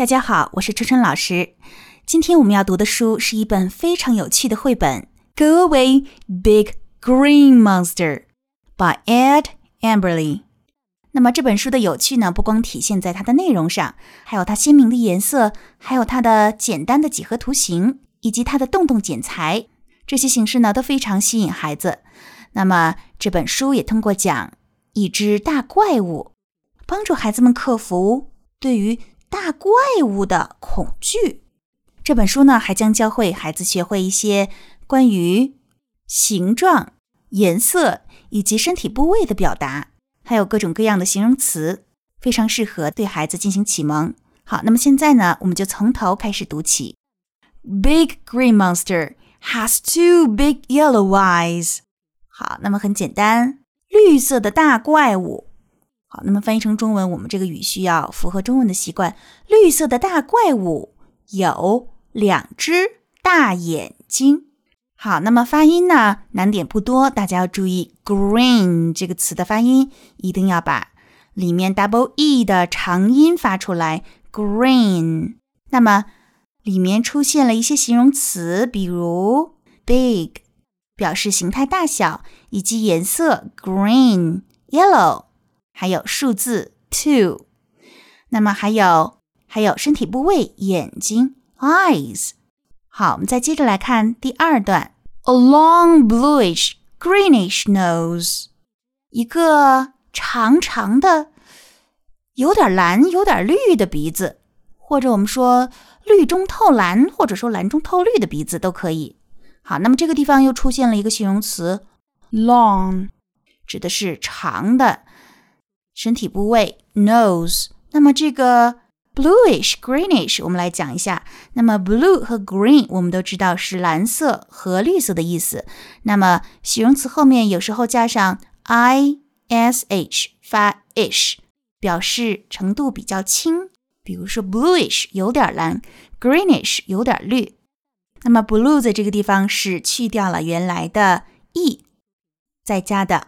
大家好，我是春春老师。今天我们要读的书是一本非常有趣的绘本 Go Away, Big Green Monster by Ed Emberley。 那么这本书的有趣呢，不光体现在它的内容上，还有它鲜明的颜色，还有它的简单的几何图形，以及它的动动剪裁，这些形式呢都非常吸引孩子。那么这本书也通过讲一只大怪物，帮助孩子们克服对于大怪物的恐惧。这本书呢，还将教会孩子学会一些关于形状、颜色以及身体部位的表达，还有各种各样的形容词，非常适合对孩子进行启蒙。好，那么现在呢，我们就从头开始读起。Big green monster has two big yellow eyes。 好，那么很简单，绿色的大怪物。好，那么翻译成中文，我们这个语序要符合中文的习惯。绿色的大怪物有两只大眼睛。好，那么发音呢，难点不多，大家要注意 green 这个词的发音，一定要把里面 double E 的长音发出来 green。 那么里面出现了一些形容词，比如 big 表示形态大小，以及颜色 green yellow，还有数字 two， 那么还有身体部位眼睛 eyes。 好，我们再接着来看第二段。 A long bluish greenish nose， 一个长长的有点蓝有点绿的鼻子，或者我们说绿中透蓝，或者说蓝中透绿的鼻子都可以。好，那么这个地方又出现了一个形容词 long， 指的是长的身体部位 nose。 那么这个 bluish greenish 我们来讲一下。那么 blue 和 green 我们都知道是蓝色和绿色的意思，那么形容词后面有时候加上 ish 发 ish， 表示程度比较轻，比如说 bluish 有点蓝， greenish 有点绿。那么 blue 在这个地方是去掉了原来的 e， 再加的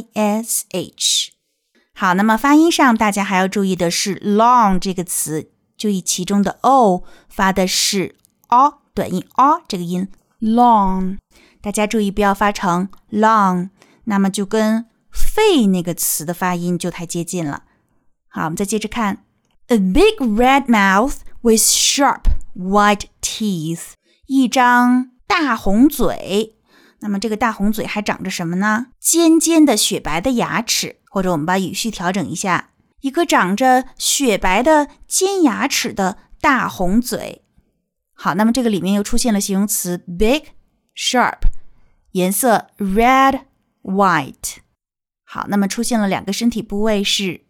ish。好，那么发音上大家还要注意的是 long 这个词，注意其中的 o 发的是 o 短音 o 这个音 long， 大家注意不要发成 long， 那么就跟肺那个词的发音就太接近了。好，我们再接着看 A big red mouth with sharp white teeth， 一张大红嘴。那么这个大红嘴还长着什么呢？尖尖的雪白的牙齿，或者我们把语序调整一下，一个长着雪白的尖牙齿的大红嘴。好，那么这个里面又出现了形容词 big sharp， 颜色 red white。 好，那么出现了两个身体部位是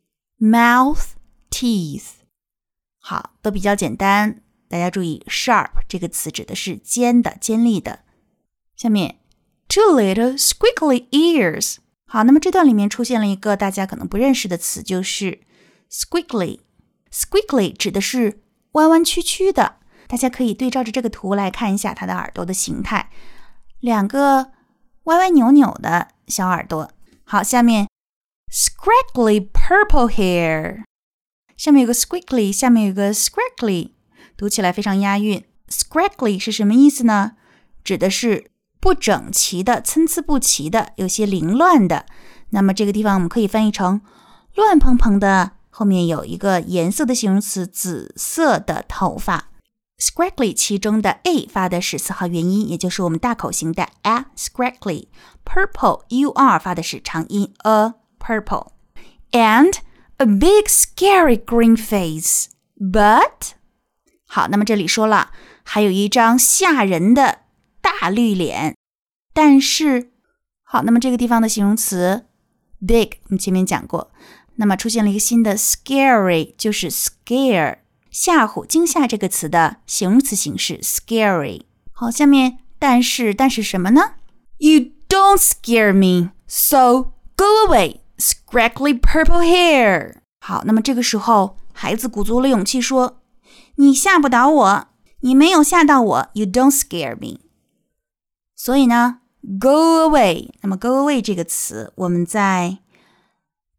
mouth teeth。 好，都比较简单，大家注意 sharp 这个词指的是尖的尖利的。下面 two little squiggly ears。 好，那么这段里面出现了一个大家可能不认识的词，就是 squiggly。 squiggly 指的是弯弯曲曲的，大家可以对照着这个图来看一下它的耳朵的形态，两个歪歪扭扭的小耳朵。好，下面 scraggly purple hair， 下面有个 squiggly， 下面有个 scraggly， 读起来非常押韵。 scraggly 是什么意思呢？指的是不整齐的，参差不齐的，有些凌乱的。那么这个地方我们可以翻译成乱蓬蓬的，后面有一个颜色的形容词紫色的头发。 scraggly 其中的 a 发的是4号元音，也就是我们大口型的 a scraggly。 purple ur 发的是长音 a purple。 And a big scary green face but， 好，那么这里说了还有一张吓人的大绿脸，但是好，那么这个地方的形容词 big 我们前面讲过，那么出现了一个新的 scary， 就是 scare 吓唬惊吓这个词的形容词形式 scary。 好，下面但是什么呢？ You don't scare me, so go away, scraggly purple hair。 好，那么这个时候孩子鼓足了勇气说，你吓不倒我，你没有吓到我， You don't scare me。所以呢 go away， 那么 go away 这个词我们在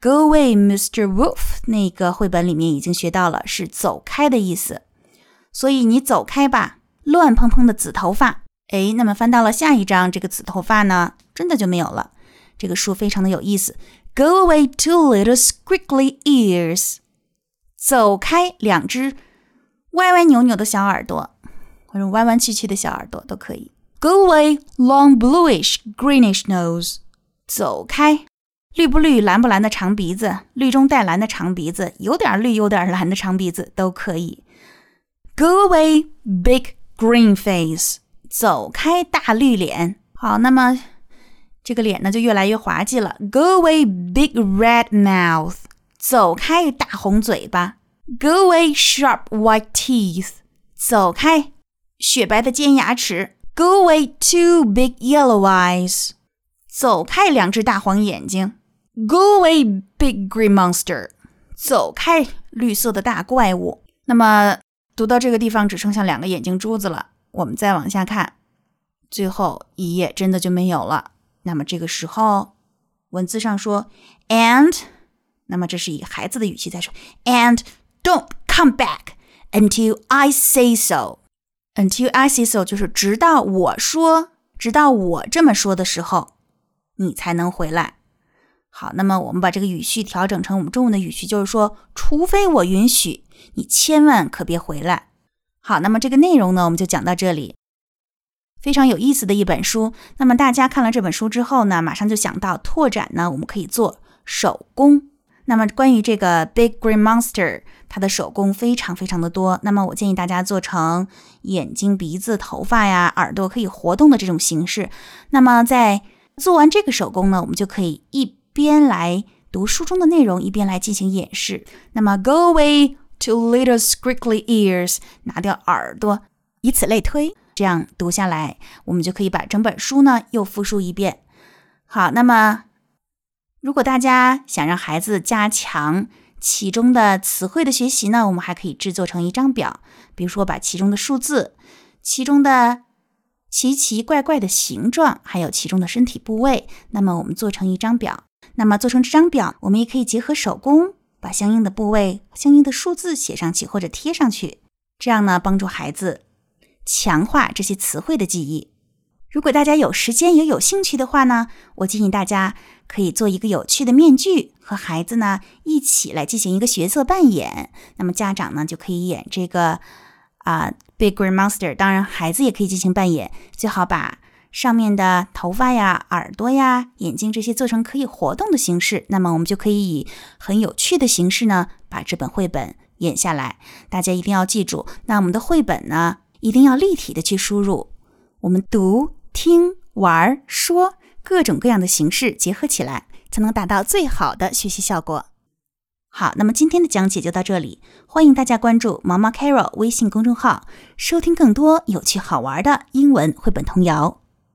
Go away, Mr. Wolf 那个绘本里面已经学到了，是走开的意思。所以你走开吧，乱蓬蓬的紫头发。那么翻到了下一章，这个紫头发呢，真的就没有了。这个书非常的有意思。Go away, two little squiggly ears. 走开，两只歪歪扭扭的小耳朵，或者弯弯曲曲的小耳朵都可以。Go away, long bluish, greenish nose. 走开，绿不绿、蓝不蓝的长鼻子，绿中带蓝的长鼻子，有点绿有点蓝的长鼻子都可以。Go away, big green face. 走开，大绿脸。好，那么这个脸呢就越来越滑稽了。Go away, big red mouth. 走开，大红嘴巴。Go away, sharp white teeth. 走开，雪白的尖牙齿。Go away, two big yellow eyes. 走开，两只大黄眼睛。Go away, big green monster. 走开，绿色的大怪物。那么读到这个地方只剩下两个眼睛珠子了，我们再往下看，最后一页真的就没有了。那么这个时候文字上说 and， 那么这是以孩子的语气在说 and don't come back until I say so. Until I say so 就是直到我这么说的时候你才能回来。好，那么我们把这个语序调整成我们中文的语序，就是说除非我允许，你千万可别回来。好，那么这个内容呢我们就讲到这里。非常有意思的一本书。那么大家看了这本书之后呢，马上就想到拓展呢我们可以做手工。那么关于这个 Big Green Monster， 它的手工非常非常的多。那么我建议大家做成眼睛、鼻子、头发呀、耳朵可以活动的这种形式。那么在做完这个手工呢，我们就可以一边来读书中的内容，一边来进行演示。那么 Go away, two little squiggly ears. 拿掉耳朵，以此类推。这样读下来，我们就可以把整本书呢又复述一遍。好，那么如果大家想让孩子加强其中的词汇的学习呢，我们还可以制作成一张表，比如说把其中的数字、其中的奇奇怪怪的形状，还有其中的身体部位，那么我们做成一张表。那么做成这张表，我们也可以结合手工，把相应的部位、相应的数字写上去或者贴上去，这样呢帮助孩子强化这些词汇的记忆。如果大家有时间也有兴趣的话呢，我建议大家可以做一个有趣的面具，和孩子呢一起来进行一个角色扮演。那么家长呢就可以演这个Big Green Monster， 当然孩子也可以进行扮演，最好把上面的头发呀、耳朵呀、眼睛这些做成可以活动的形式，那么我们就可以以很有趣的形式呢把这本绘本演下来。大家一定要记住，那我们的绘本呢一定要立体的去输入，我们读、听、玩、说各种各样的形式结合起来，才能达到最好的学习效果。好，那么今天的讲解就到这里，欢迎大家关注毛毛 Carol 微信公众号，收听更多有趣好玩的英文绘本童谣。